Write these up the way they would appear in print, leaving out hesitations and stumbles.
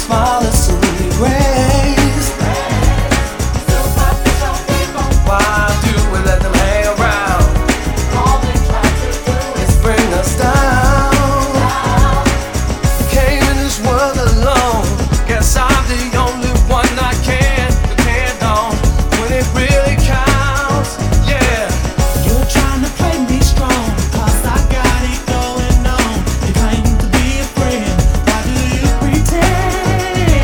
smile is sweet grace. Superficial people, why do we let them hang around? All they try to do is bring us down. Came in this world alone. Guess I'm the only one I can depend on when it really counts. Yeah. You're trying to play me strong, 'cause I got it going on. You claim to be a friend, why do you pretend?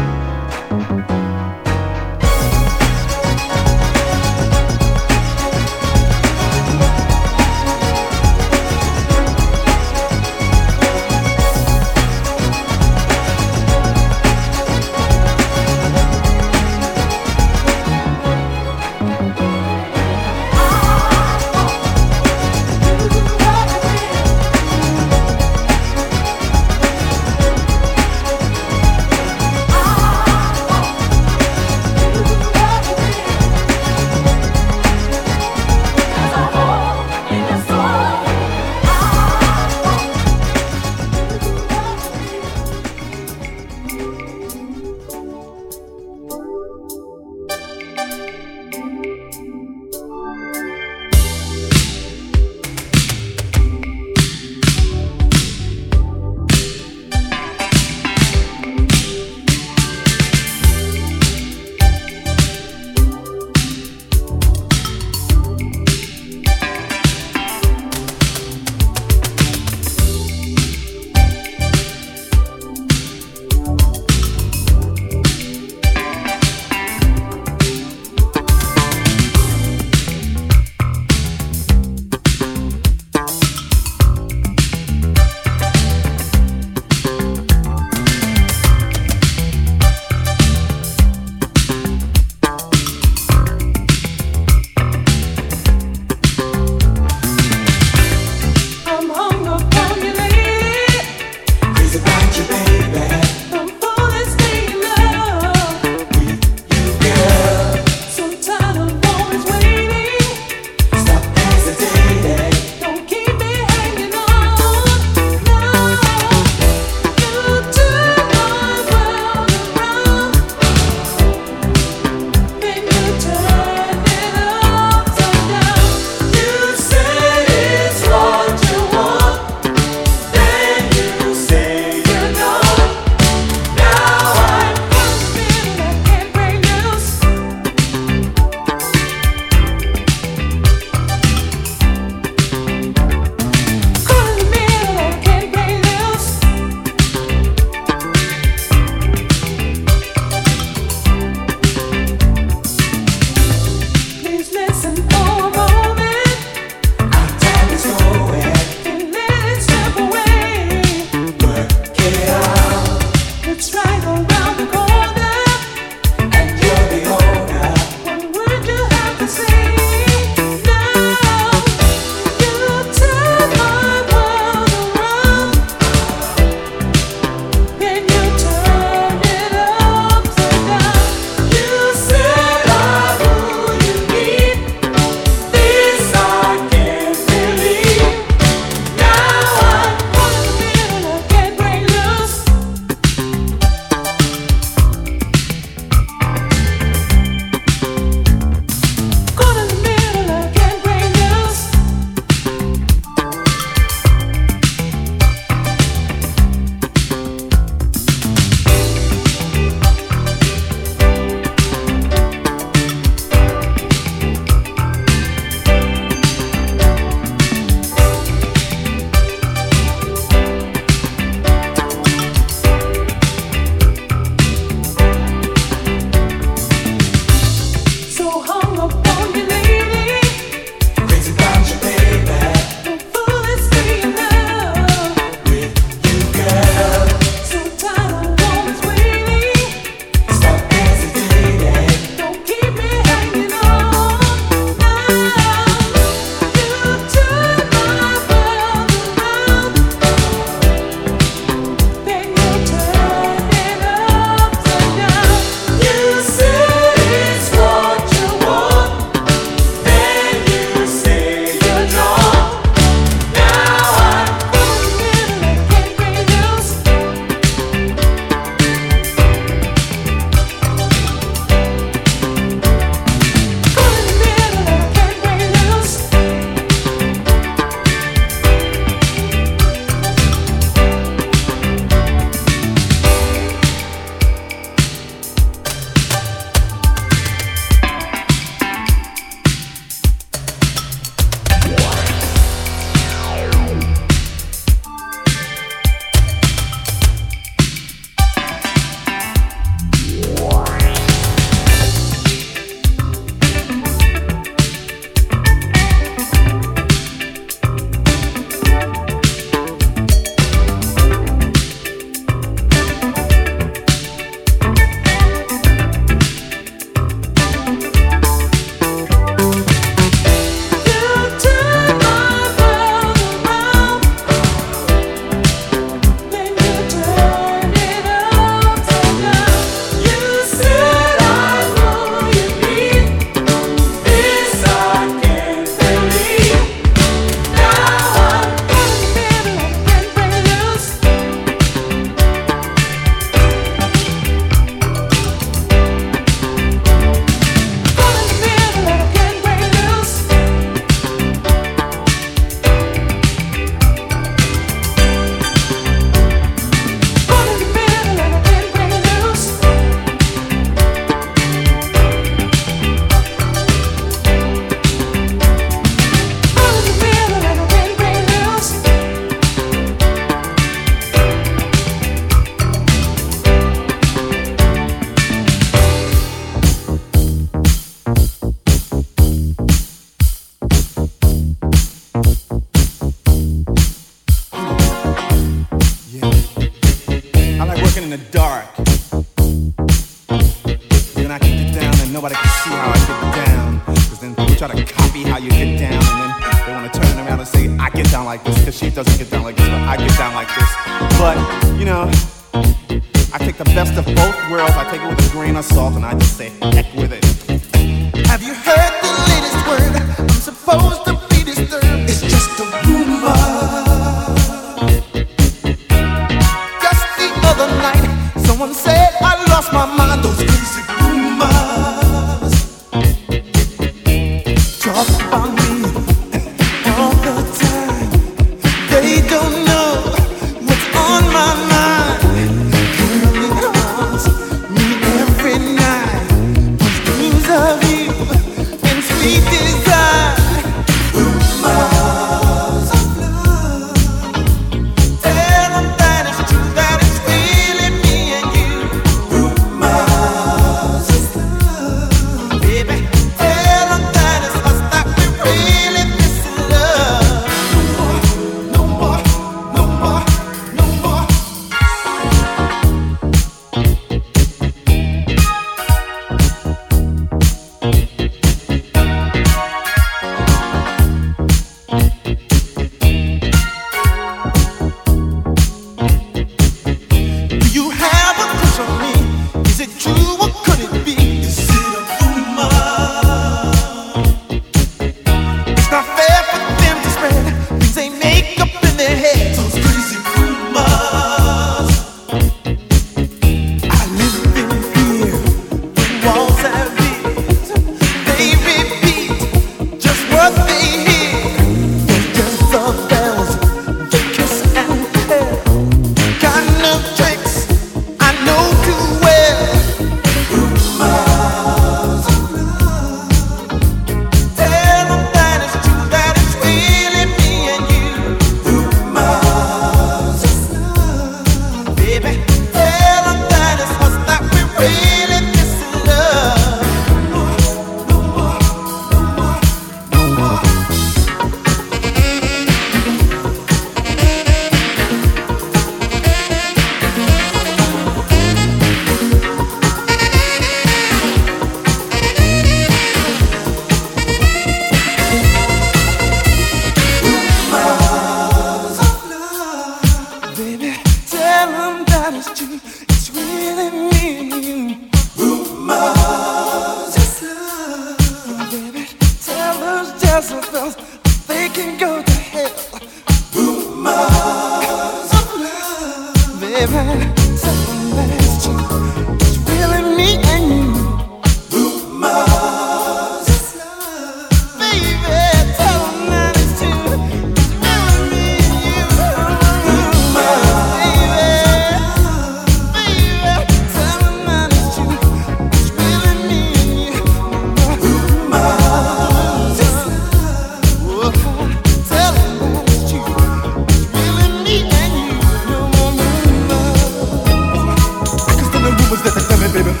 rumors that they tell me, baby.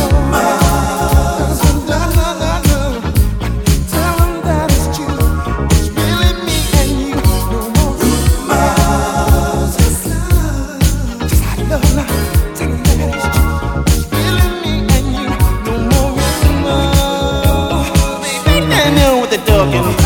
Tell them that it's true. It's really me and you. No more rumors. Just love now. Tell them that it's true. It's really me and you. No more rumors. Baby, I know what they're talking about.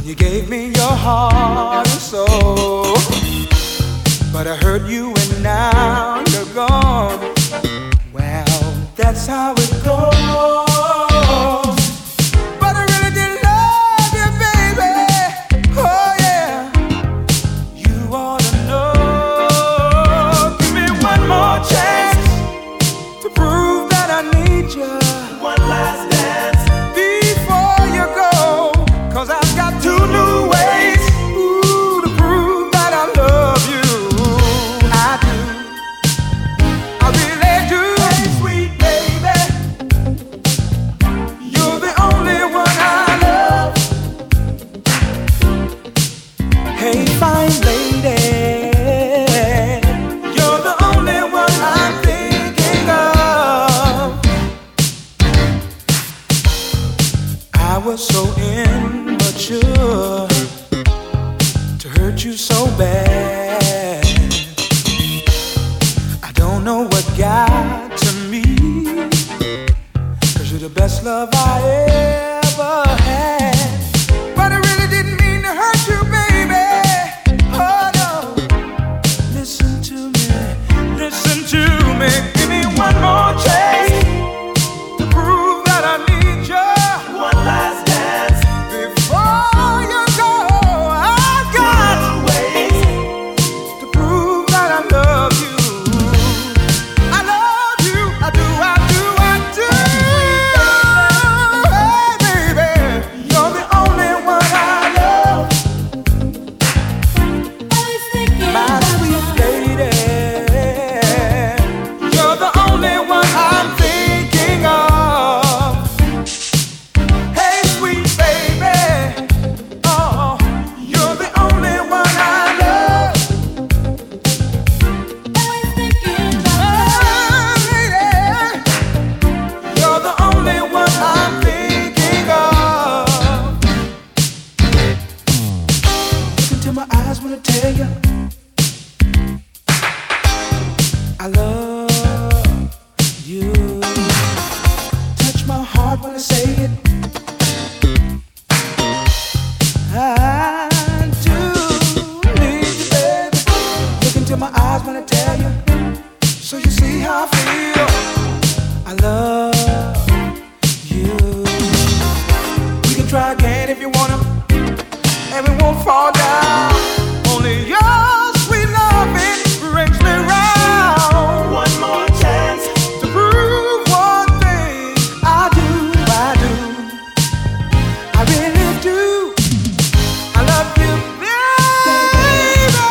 You gave me your heart and soul, but I hurt you and now you're gone. Well, that's how it goes. But I really did love you, baby. Oh yeah, you ought to know. Give me one more chance to prove that I need you. One last dance before you go, 'cause I've got two new ways, ooh, to prove that I love you. I do, I really do. Hey, sweet baby, you're the only one I love. Hey, fine lady, you're the only one I'm thinking of. I was so immature to hurt you so bad. I don't know what got to me, 'cause you're the best love I ever had. But I really didn't mean to hurt you, baby. Oh no. Listen to me, listen to me. Give me one more chance to prove that I need you. One last dance before you go. I got ways to prove that I love you. I love you, I do, I do, I do. Hey baby, you're the only one I love. My sweet lady, you're the only one I'm thinking of. Hey sweet baby, oh, you're the only one I love. Oh, lady, you're the only one I'm thinking of. Look into my eyes when I tell you I love you. Touch my heart when I say it. I do need you, baby. Look into my eyes when I tell you, so you see how I feel. I love you. We can try again if you wanna, and we won't fall down. Only your sweet loving brings me round. One more chance to prove one thing. I do, I really do. I love you, baby.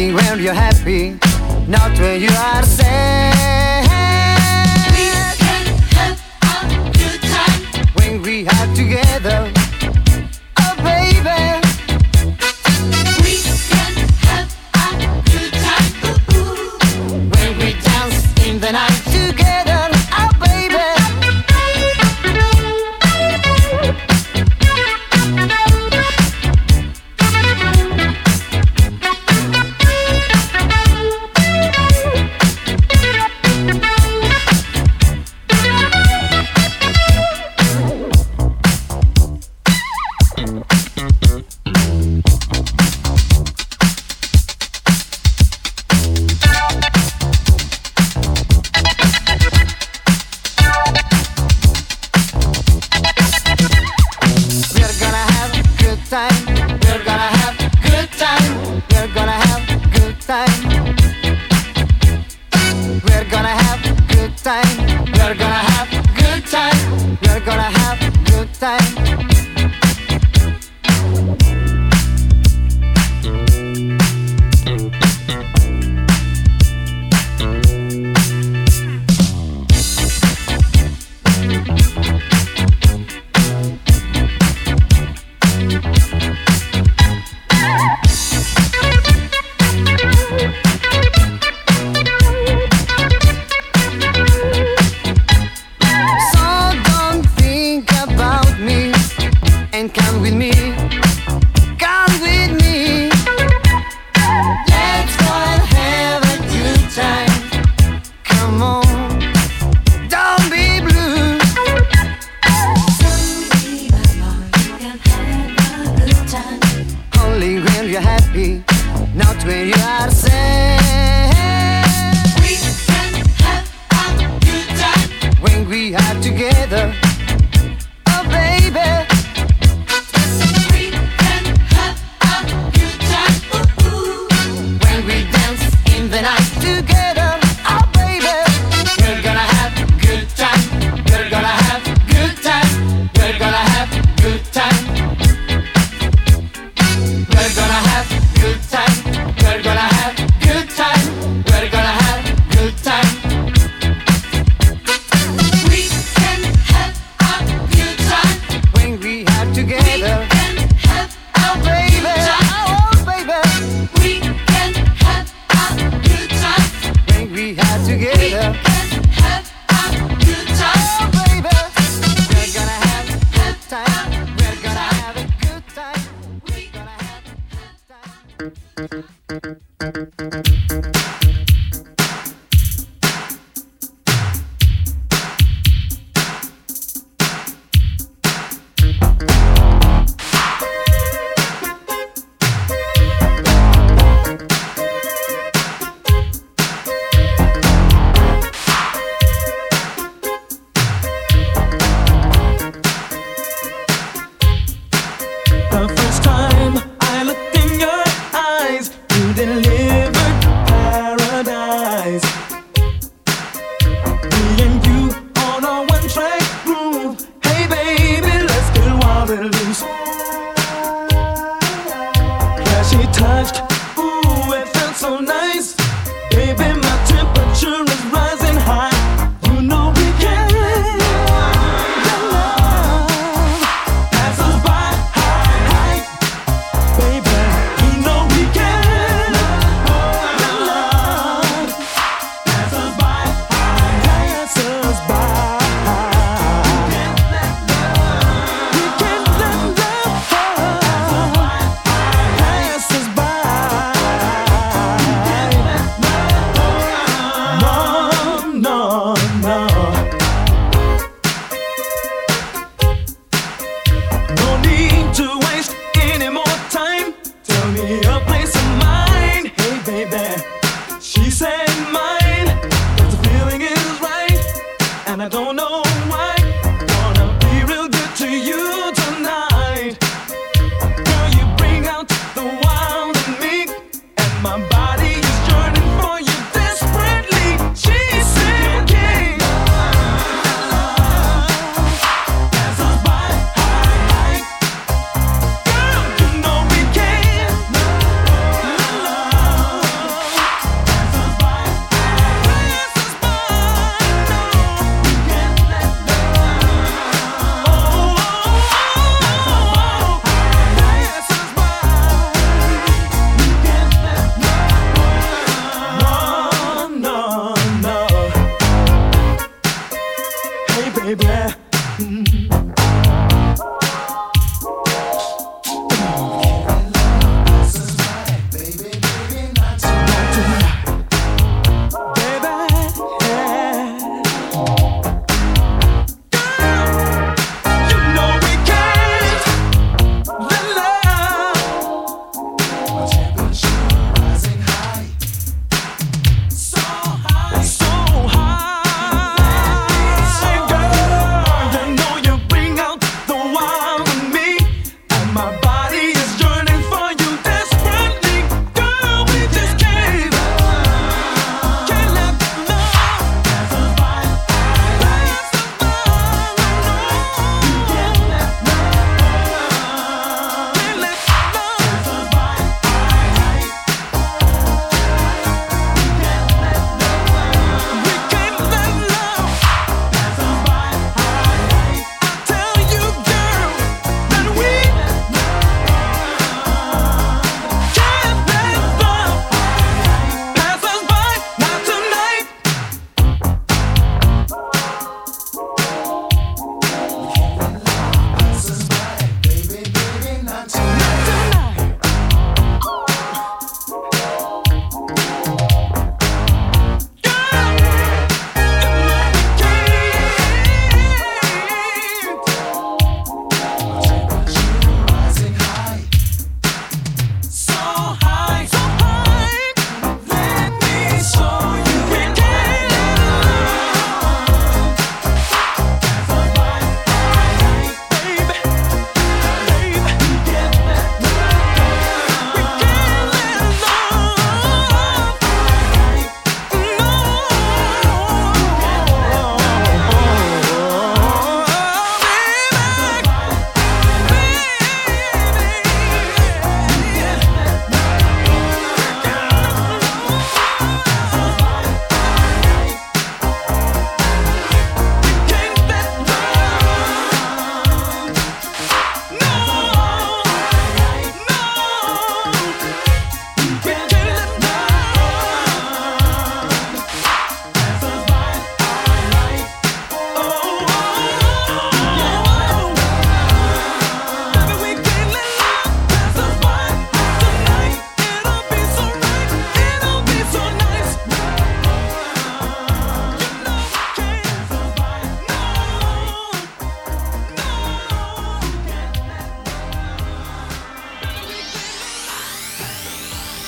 Only when you're happy, not when you are sad. We can have a good time when we are together. Oh baby, we can have a good time when we dance in the night together. Oh baby.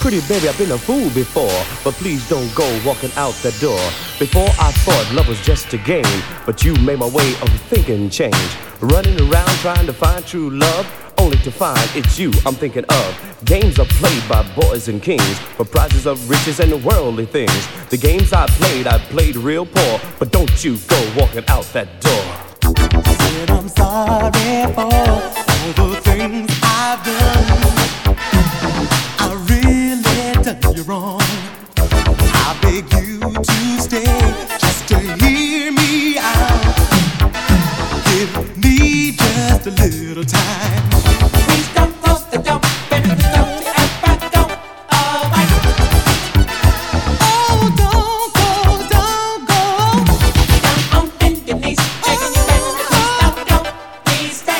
Pretty baby, I've been a fool before, but please don't go walking out that door. Before I thought love was just a game, but you made my way of thinking change. Running around trying to find true love, only to find it's you I'm thinking of. Games are played by boys and kings for prizes of riches and worldly things. The games I played real poor, but don't you go walking out that door. Said I'm sorry for all the things I've done. I really done you wrong. I beg you to stay just to hear me out. Give me just a little time. Please don't close the door, baby, don't you ever go away. Oh, don't go. Down on bended knees, begging you, baby, please don't go, please stay.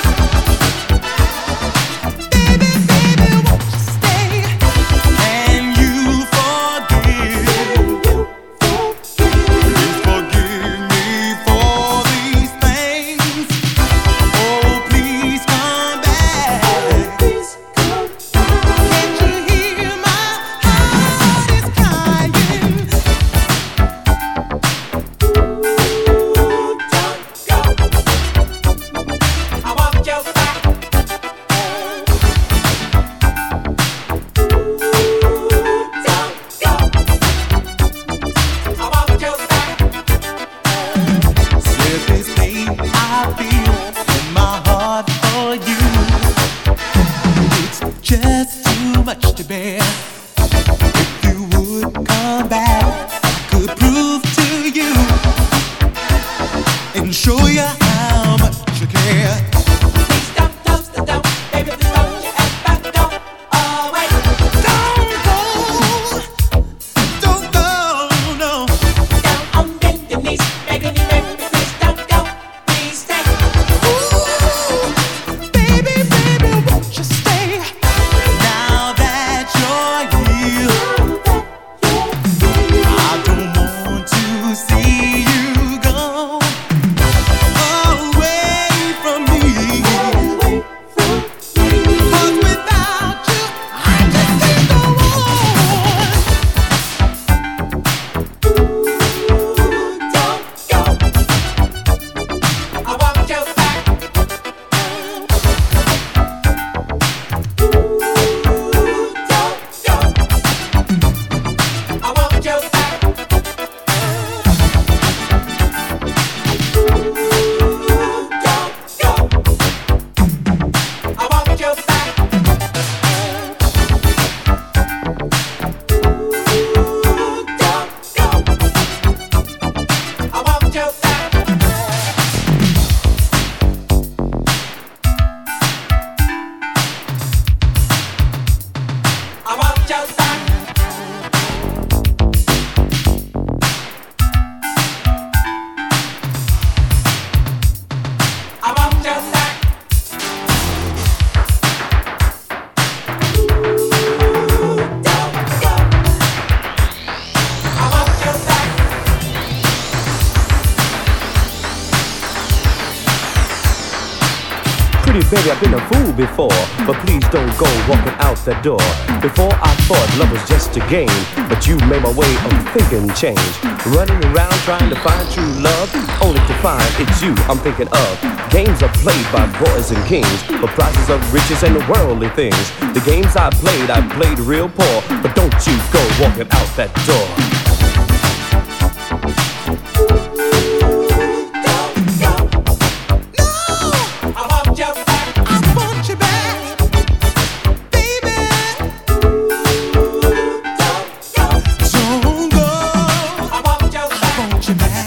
Baby, won't you stay? Can you forgive? Please forgive me for these things. Oh, please come back. Can't you hear my heart is crying? Don't go. I want your back. Don't go. I want your back. Said this pain I feel in my heart for you. It's just too much to bear. If you would come back, I could prove to you and show you how much you care. Please don't close the door, baby, please don't you ever go away. Don't go, no. Down on bended knees, begging you, baby, please don't go, please stay. Ooh, baby, won't you stay? Now that you're here, I don't want to see you go away from me. 'Cause without you, I just can't go on. Don't go. I want your back. Don't go. I want your back. Don't go. I want your back. Don't go. I want your back. I want your back. I want your back. Don't go. I want your back. Pretty baby, I've been a fool before, but please don't go walking out that door. Before I thought love was just a game, but you made my way of thinking change. Running around trying to find true love, only to find it's you I'm thinking of. Games are played by boys and kings for prizes of riches and worldly things. The games I played real poor, but don't you go walking out that door. I want your back. I want you back, baby. Don't go. I want your I back. want you back.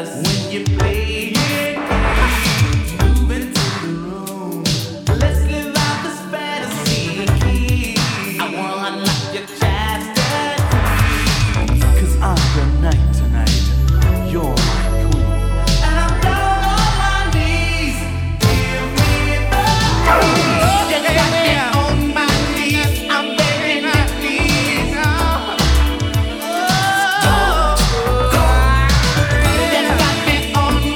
On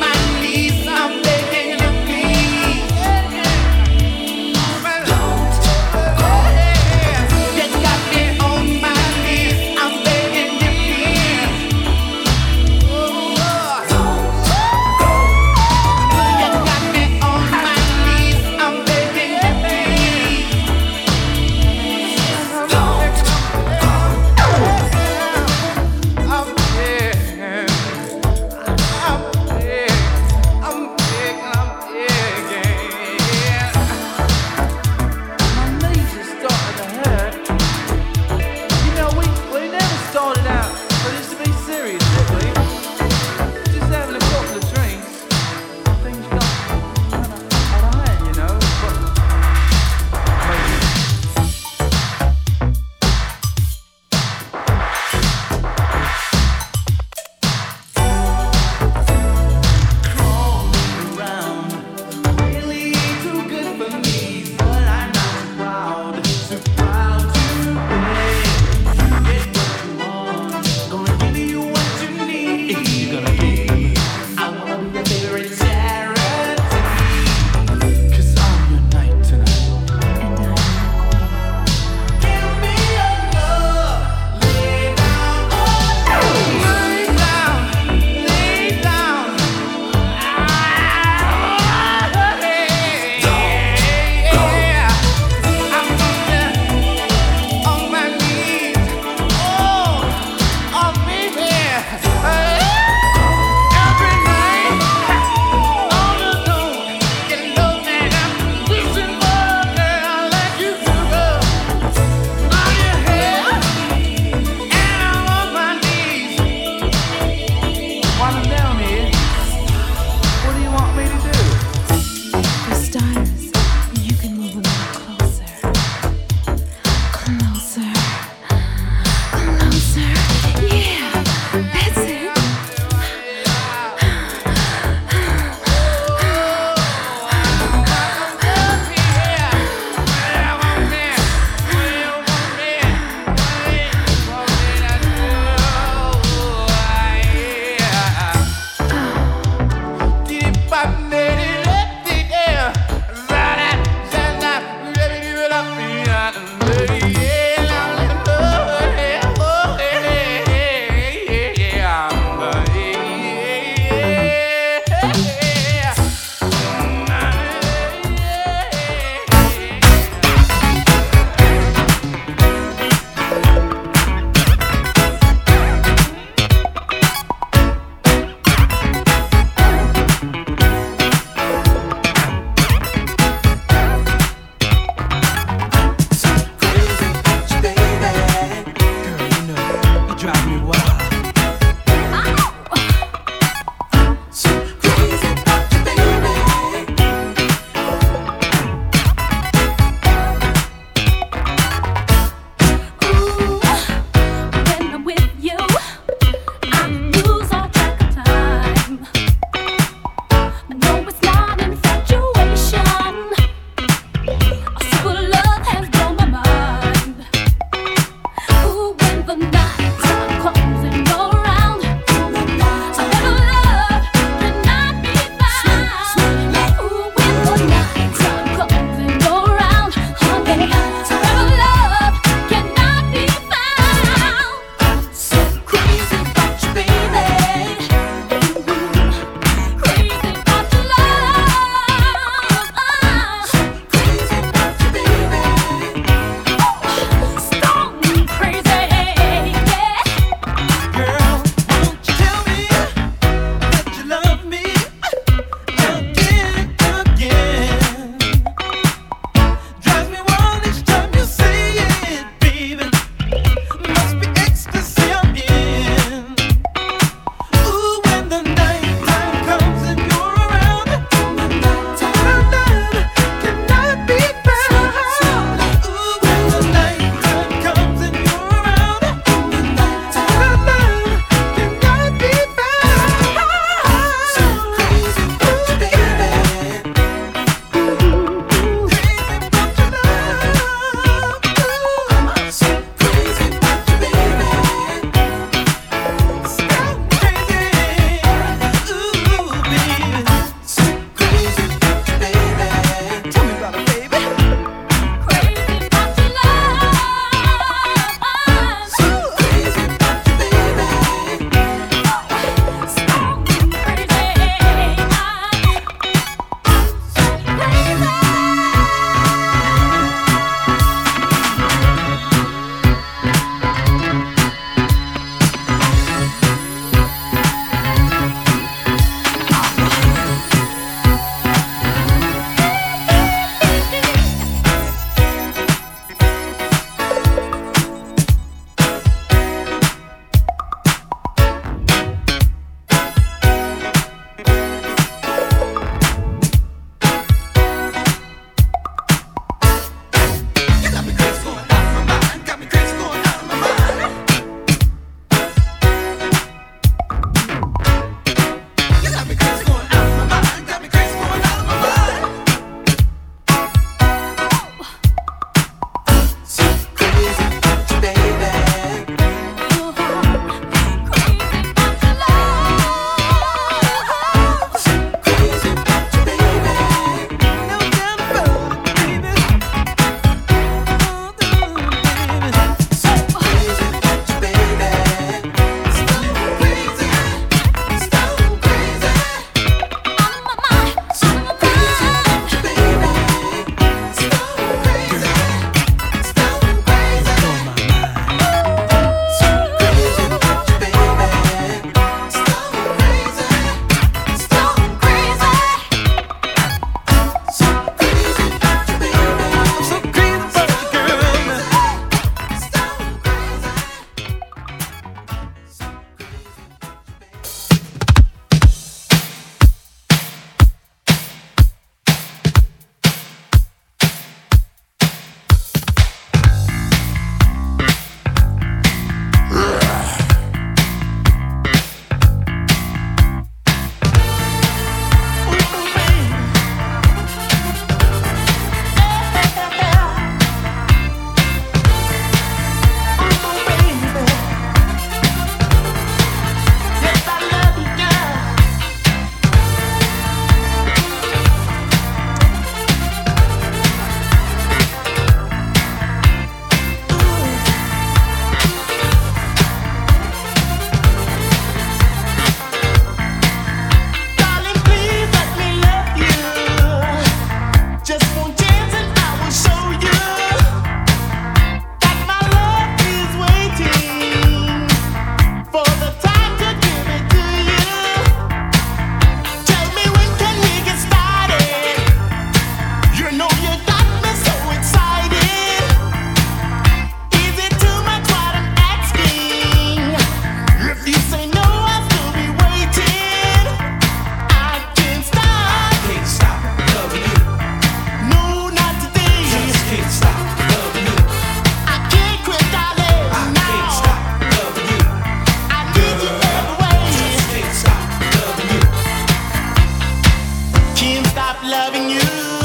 loving you.